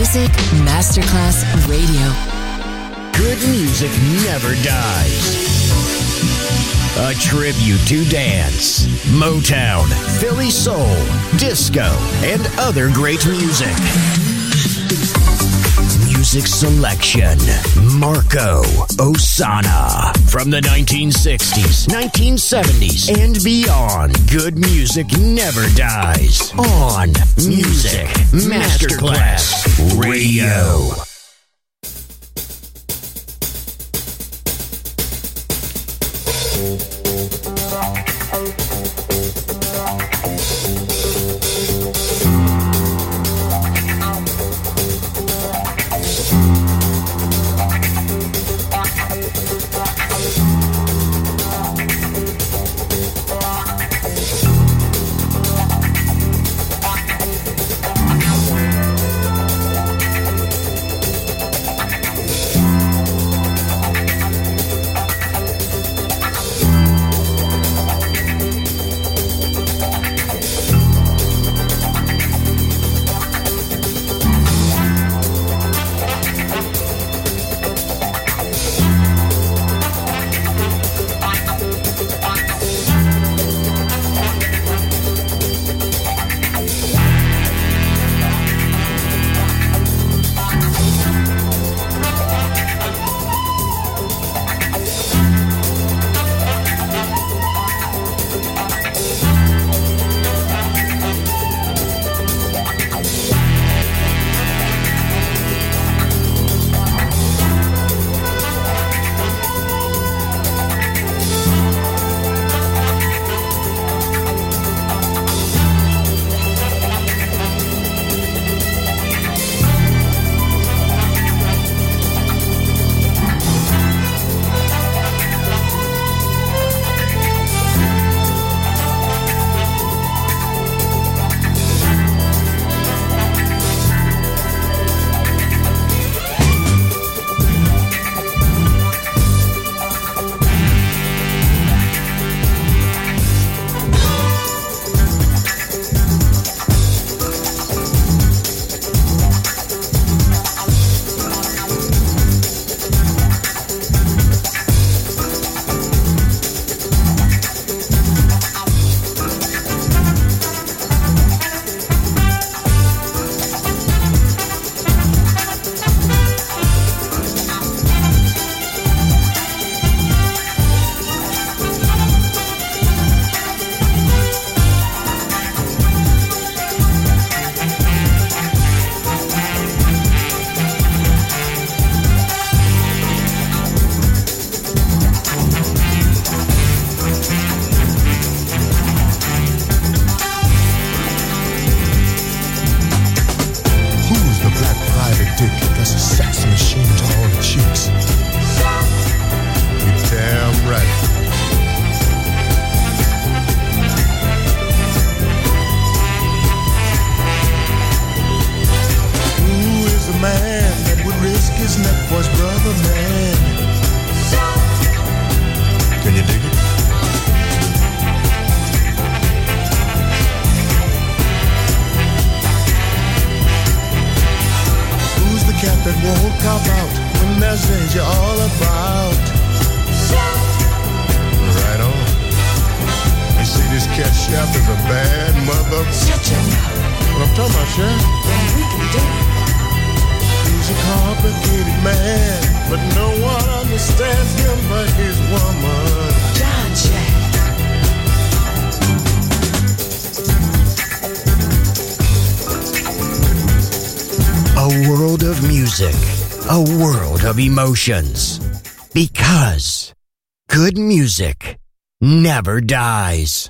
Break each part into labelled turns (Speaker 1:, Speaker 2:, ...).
Speaker 1: Music Masterclass Radio.
Speaker 2: Good music never dies. A tribute to dance, Motown, Philly soul, disco, and other great music. Music selection, Marco Ossanna. From the 1960s, 1970s, and beyond, good music never dies. On Music Masterclass Radio. A world of emotions, because good music never dies.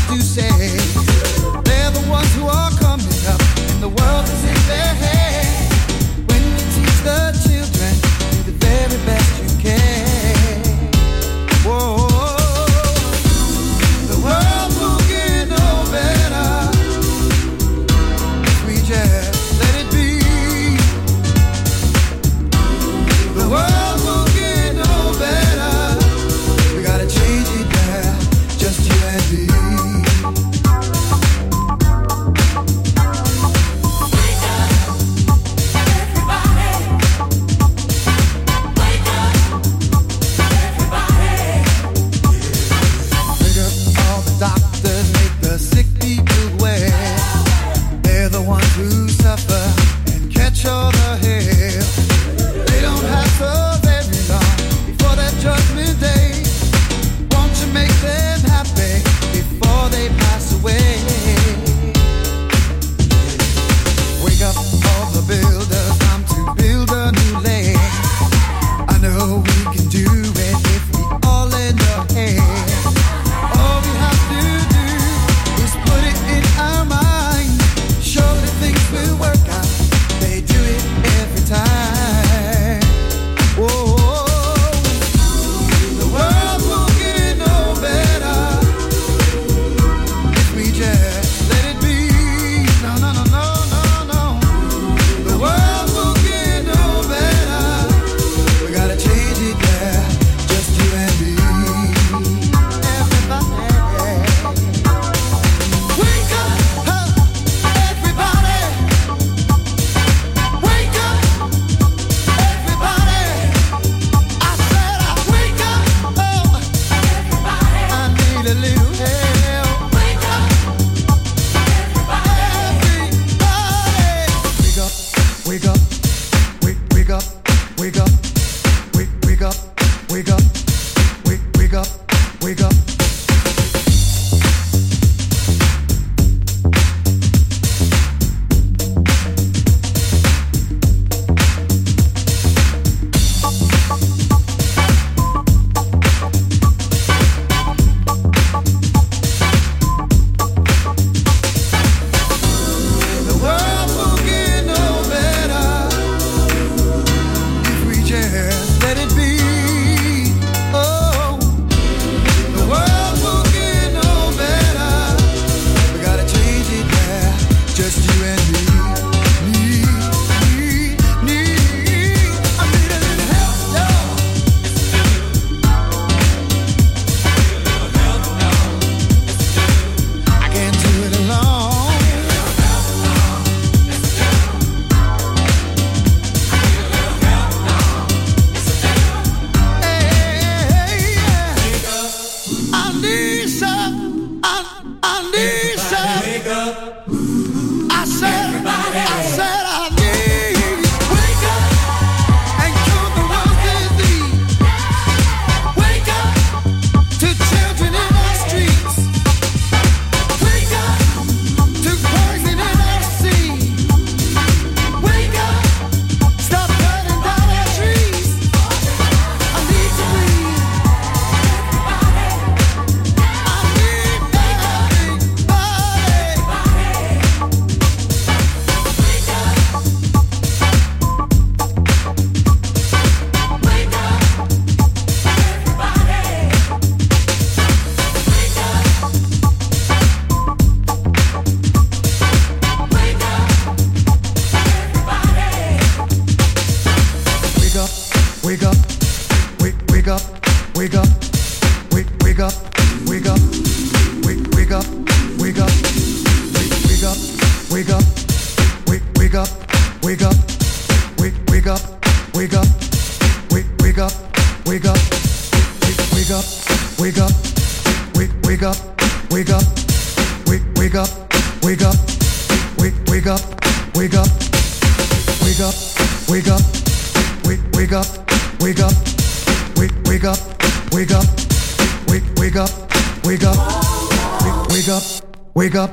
Speaker 3: to say. They're the ones who are coming up, and the world is in their hands. When you teach the children, do the very best you can. Whoa, the world will get no better if we just let it be. The world will get no better. We gotta change it now, just you and me.
Speaker 4: Wake up.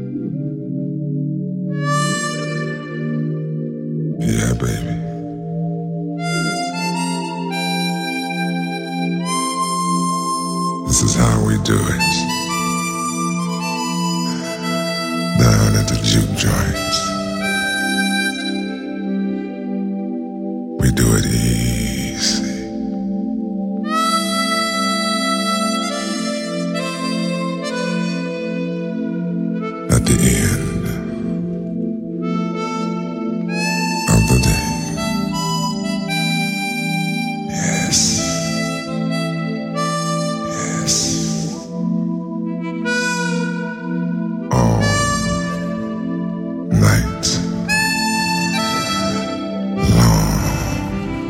Speaker 4: Yeah, baby. This is how we do it. Down at the juke joints, we do it easy. At the end of the day. Yes. All night long.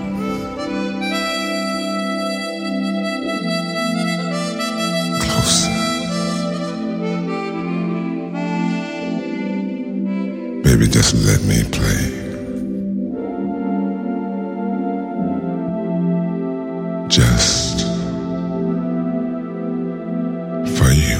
Speaker 4: Closer. Baby, just let me play. Just for you.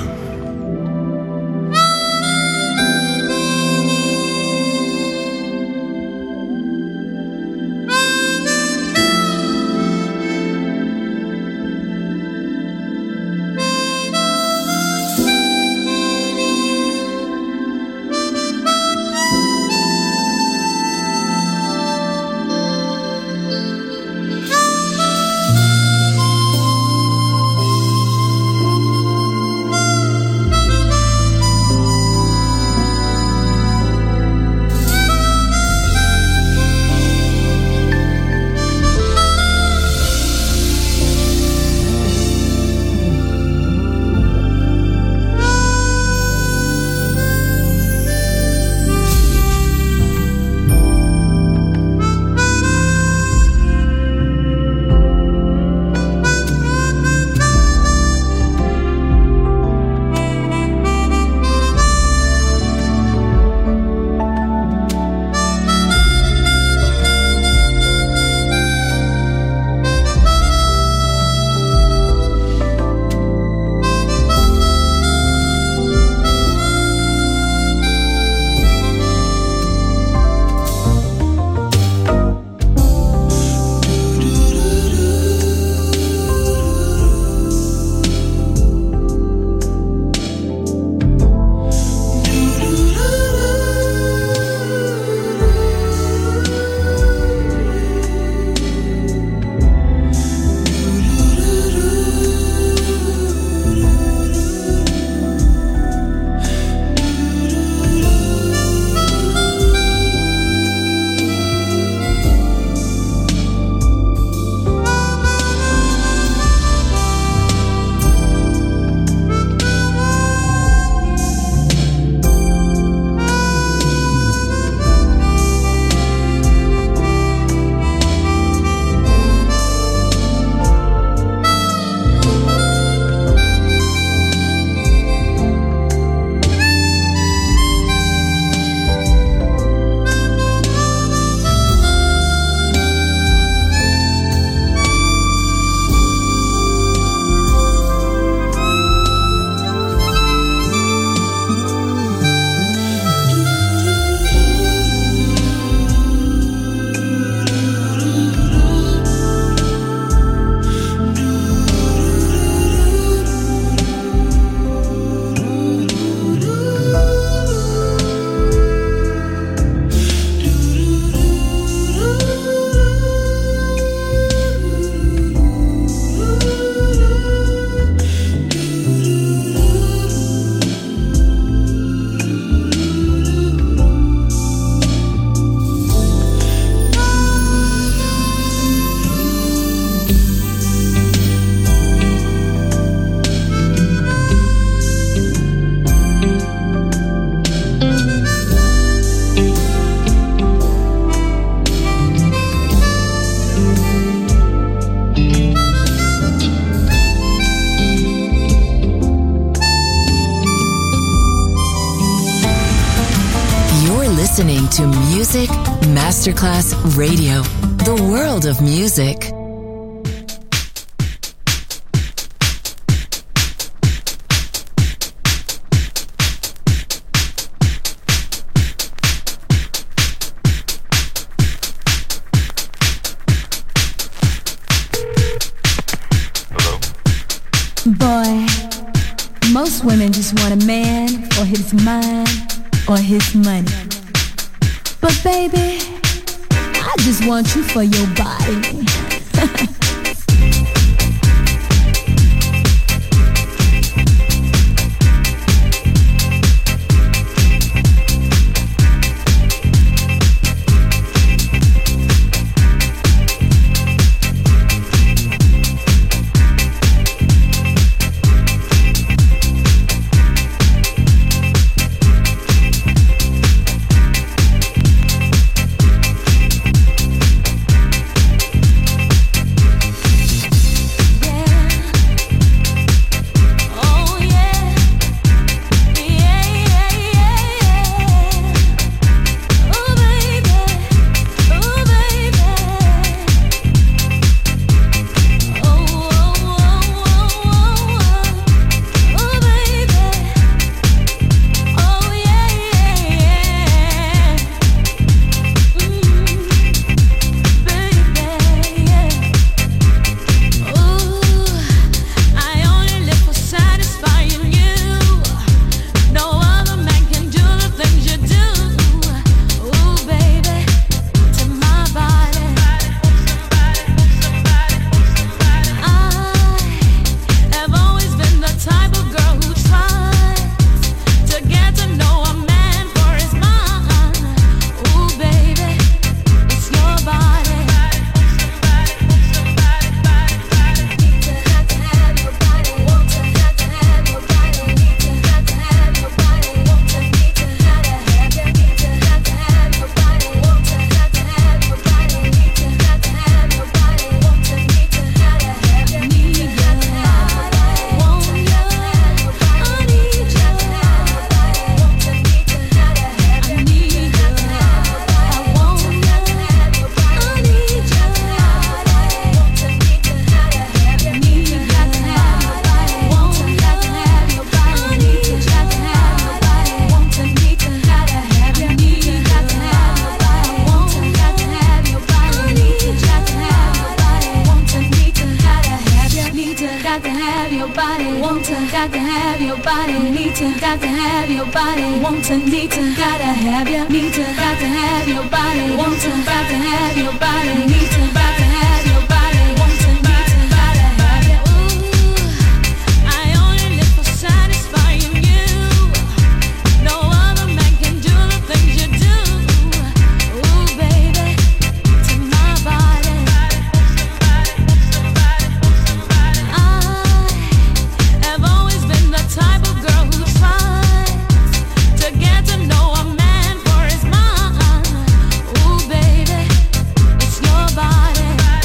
Speaker 1: listening to Music Masterclass Radio, the world of music.
Speaker 5: Boy, most women just want a man for his mind or his money. But baby, I just want you for your body. got to have your body, need to, got to have your body, want to, need to, gotta have you, need to, got to have your body, want to, got to have your body, need to, got to have your body, want to, need to, gotta have you. Ooh, I only live for satisfying you. No other man can do the things you do. Ooh, baby, to my body. I have always been the type of girl who tries to get to know a man for his mind. Ooh, baby, it's your body.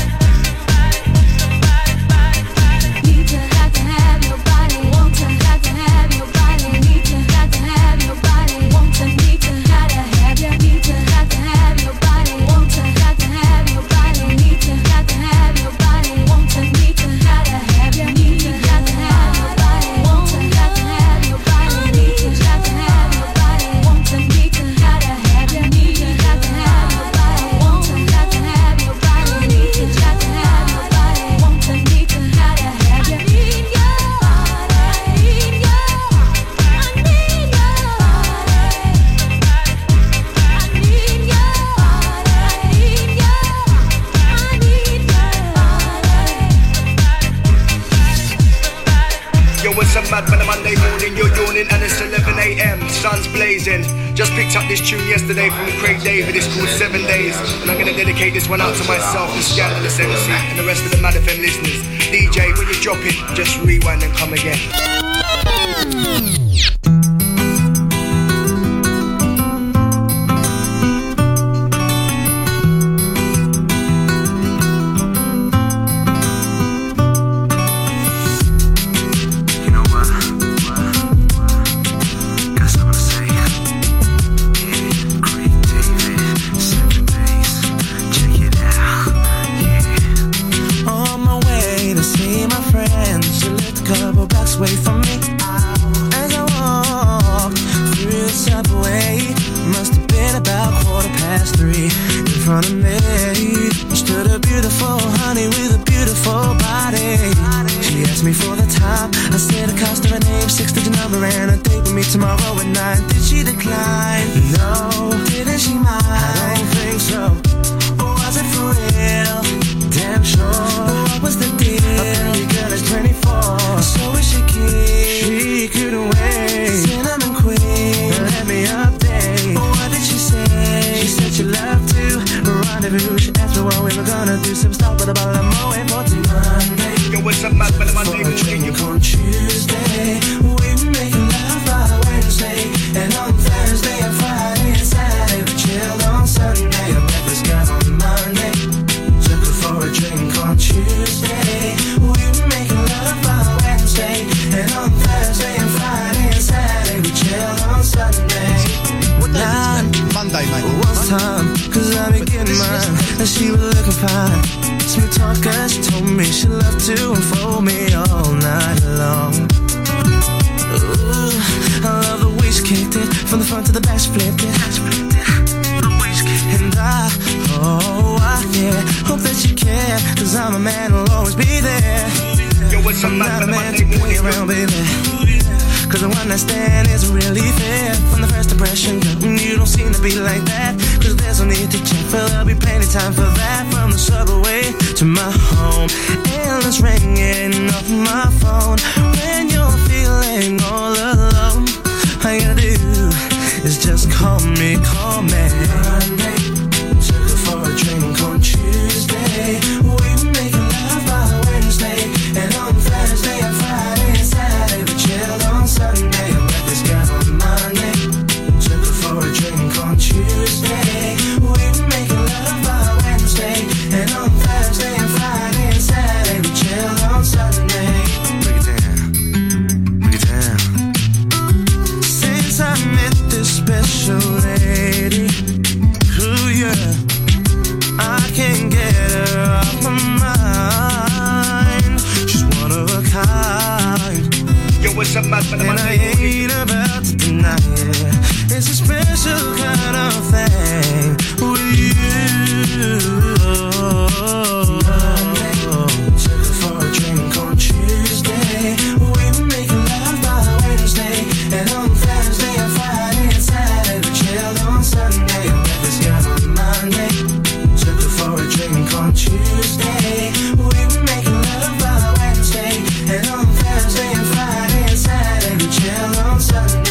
Speaker 5: Need to, got to have your body. Want to, got to have your body. Need to, got to have your body. Want to, need to, gotta have you. Need to, got to have your body. Want to, got to have your body. Need to, got to have your body. Want to, need to, gotta have you. Need to, got to have your body. Want to, got to have your body. Need to, got to have your body. Want to, need to, gotta have you. Need to, got to have your body. Want to, got to have your body. Need to, got to have your body. Want to, need to, gotta have you. I need your body. I need your. I need your body. I need your body. I need your.
Speaker 6: Yo, what's up, mad man? A Monday morning, you're yawning and it's 11 a.m. Sun's blazing. Just picked up this tune yesterday from Craig David. It's called 7 Days, and I'm gonna dedicate this one out to myself, the Scandalous MC, and the rest of the Mad FM listeners. DJ, when you drop it, just rewind and come again.
Speaker 7: You know what? Got something to say. Yeah, Craig David, 7 days. Check it out. Yeah. On my way to see my friends, she lived a couple blocks away from me. As I
Speaker 8: So what we were gonna do some stuff, but I'm waiting for Monday.
Speaker 6: Yo, what's up, man? But Monday morning, you
Speaker 8: on Tuesday. We were making love by Wednesday, and on Thursday and Friday and Saturday we chilled on Sunday. I met this guy on Monday, took her for a drink on Tuesday. We were making love by Wednesday, and on Thursday and Friday and Saturday we chilled on Sunday.
Speaker 9: What day is this? Monday, mate.
Speaker 8: One time, cause I be getting mine, and she was looking fine. Smooth talker, she told me she loved to unfold me all night long. Ooh, I love the way she kicked it, from the front to the back she flipped it. And yeah, hope that you care, cause I'm a man who'll always be there.
Speaker 6: Yo, what's up,
Speaker 8: I'm
Speaker 6: man?
Speaker 8: not a
Speaker 6: But
Speaker 8: man
Speaker 6: Monday
Speaker 8: to play
Speaker 6: morning,
Speaker 8: around, baby. Cause the one night stand isn't really fair. From the first impression, girl, you don't seem to be like that. Cause there's no need to check, but there'll be plenty time for that. From the subway to my home, endless ringing off my phone. When you're feeling all alone, all you gotta do is just call me. Monday, took her for a drink on Tuesday. We were making love by Wednesday, and on Thursday and Friday and Saturday we chilled on Sunday. I met this guy on Monday, took her for a drink on Tuesday. We were making love by Wednesday, and on Thursday and Friday and Saturday we chilled on Sunday. Break it down, break it down. Since I met this special lady, ooh yeah, I can't get her off my mind. She's one of a kind,
Speaker 6: yo, what's up, man? But
Speaker 8: and I
Speaker 6: Monday morning,
Speaker 8: ain't about to deny it. It's a special kind of thing with you. Took her for a drink on Tuesday. We were making love by Wednesday, and on Thursday and Friday and Saturday we chilled on Sunday. I met this guy on Monday, took her for a drink on Tuesday. We were making love by Wednesday, and on Thursday and Friday and Saturday we chilled on Sunday.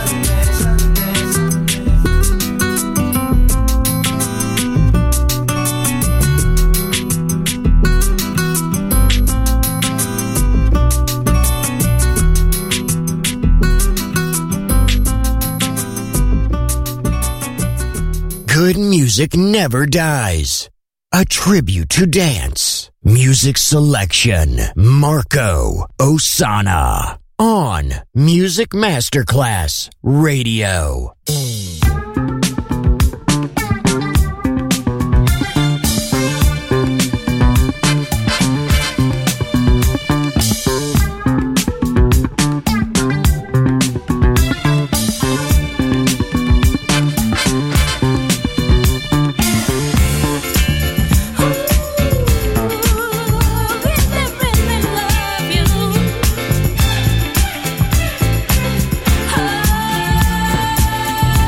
Speaker 2: Good music never dies. A tribute to dance. Music selection. Marco Ossanna. On Music Masterclass Radio.
Speaker 5: Love you.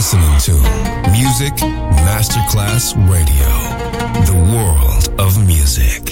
Speaker 10: listening to Music Masterclass Radio, the world of music.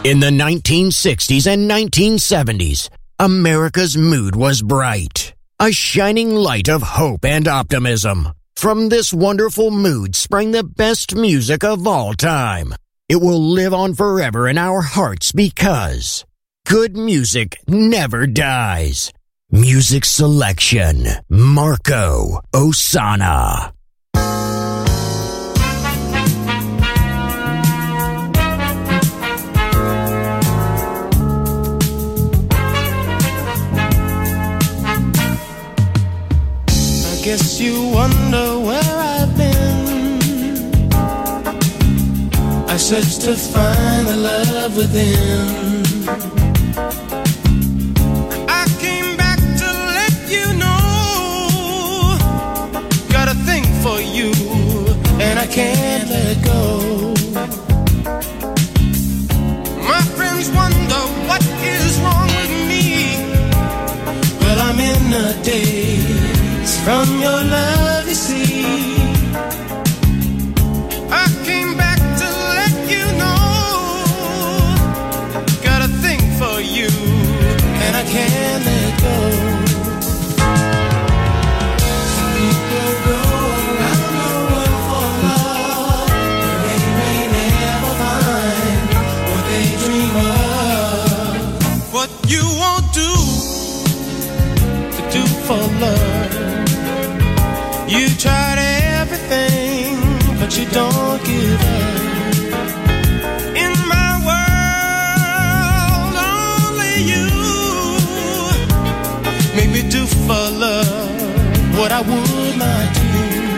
Speaker 2: In the 1960s and 1970s, America's mood was bright, a shining light of hope and optimism. From this wonderful mood sprang the best music of all time. It will live on forever in our hearts because good music never dies. Music selection, Marco Ossanna.
Speaker 8: Guess you wonder where I've been. I searched to find the love within. I came back to let you know. Got a thing for you, and I can't let go. My friends wonder what is wrong with me. Well, I'm in a daze from your love, you see. I came back to let you know. Got a thing for you, and I can't let go. People go around the world for love, but they may never find what they dream of. What you won't do to do for love. You tried everything, but you don't give up. In my world, only you make me do for love what I would not do.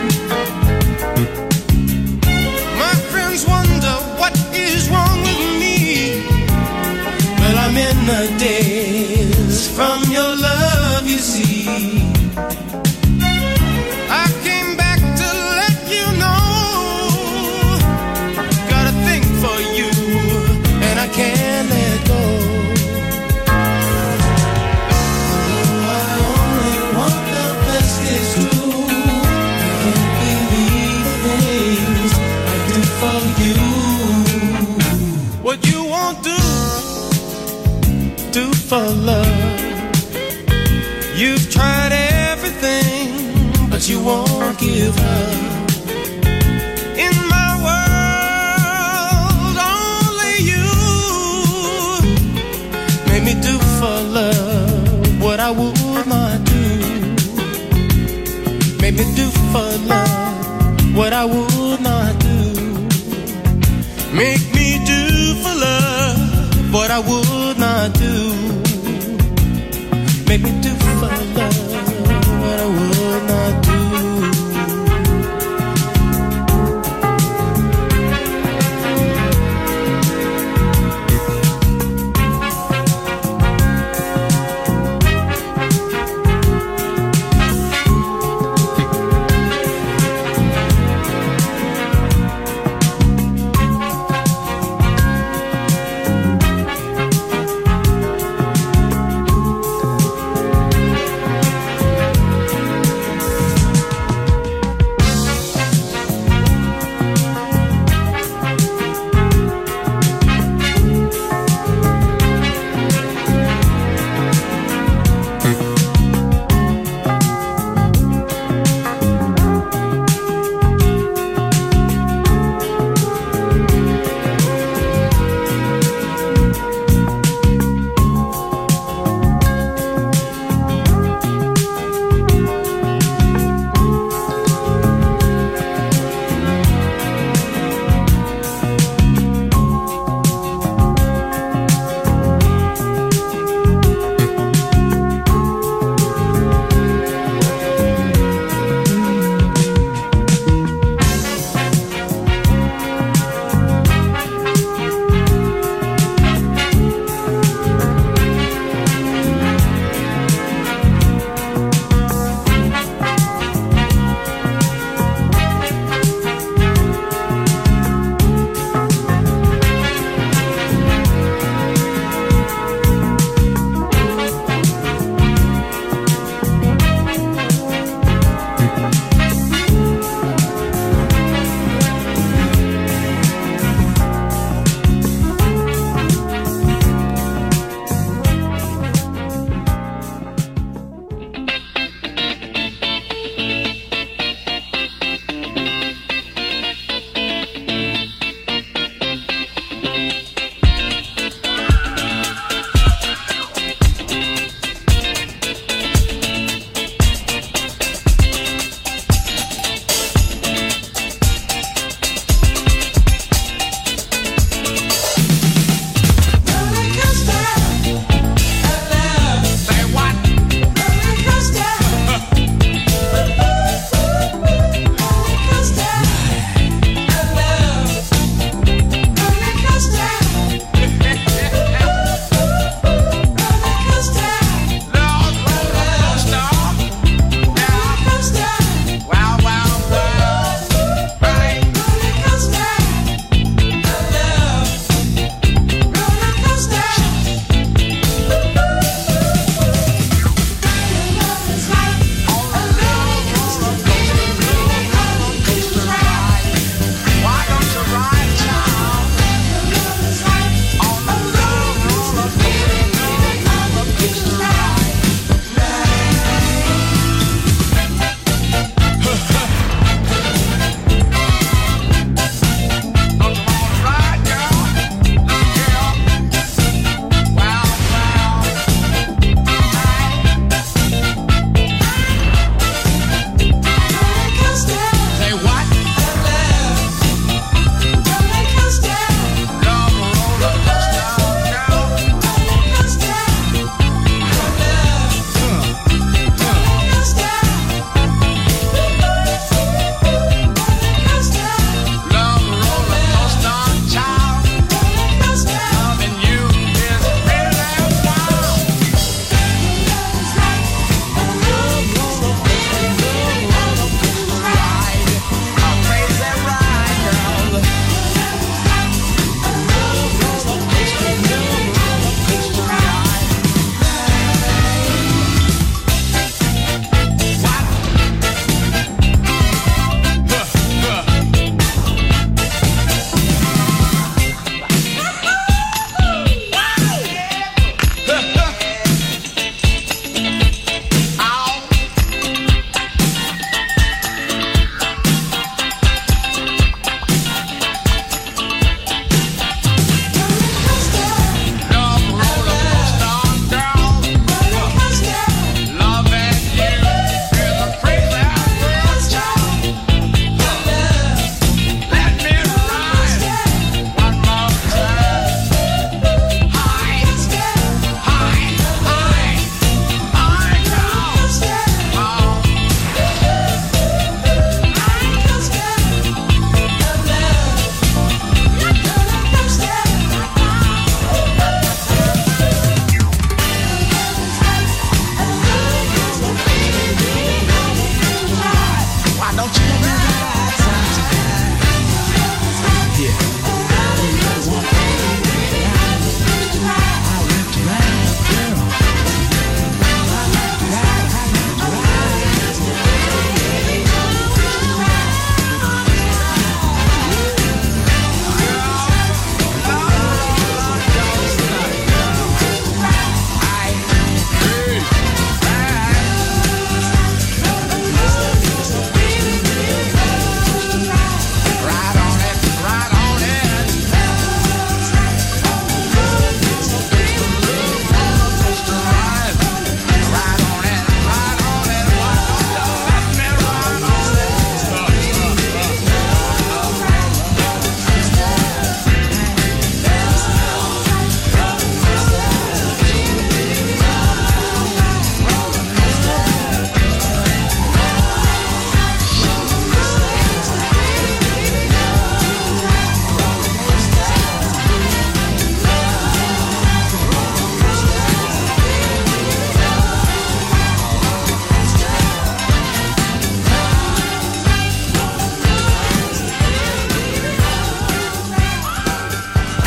Speaker 8: My friends wonder what is wrong with me. Well, I'm in the daze from your love, you see. Can't let go. Oh, I only want the best, it's true. I can't believe the things I do for you. What you won't do for love. You've tried everything, but you won't give up. In my world, only you make me do for love what I would not do. Make me do for love what I would not do. Make me do for love what I would not do. Make me do for love what I would not do.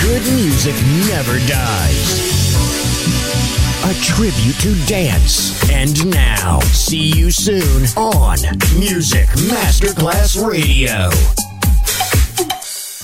Speaker 2: good music never dies. A tribute to dance. And now, see you soon on Music Masterclass Radio.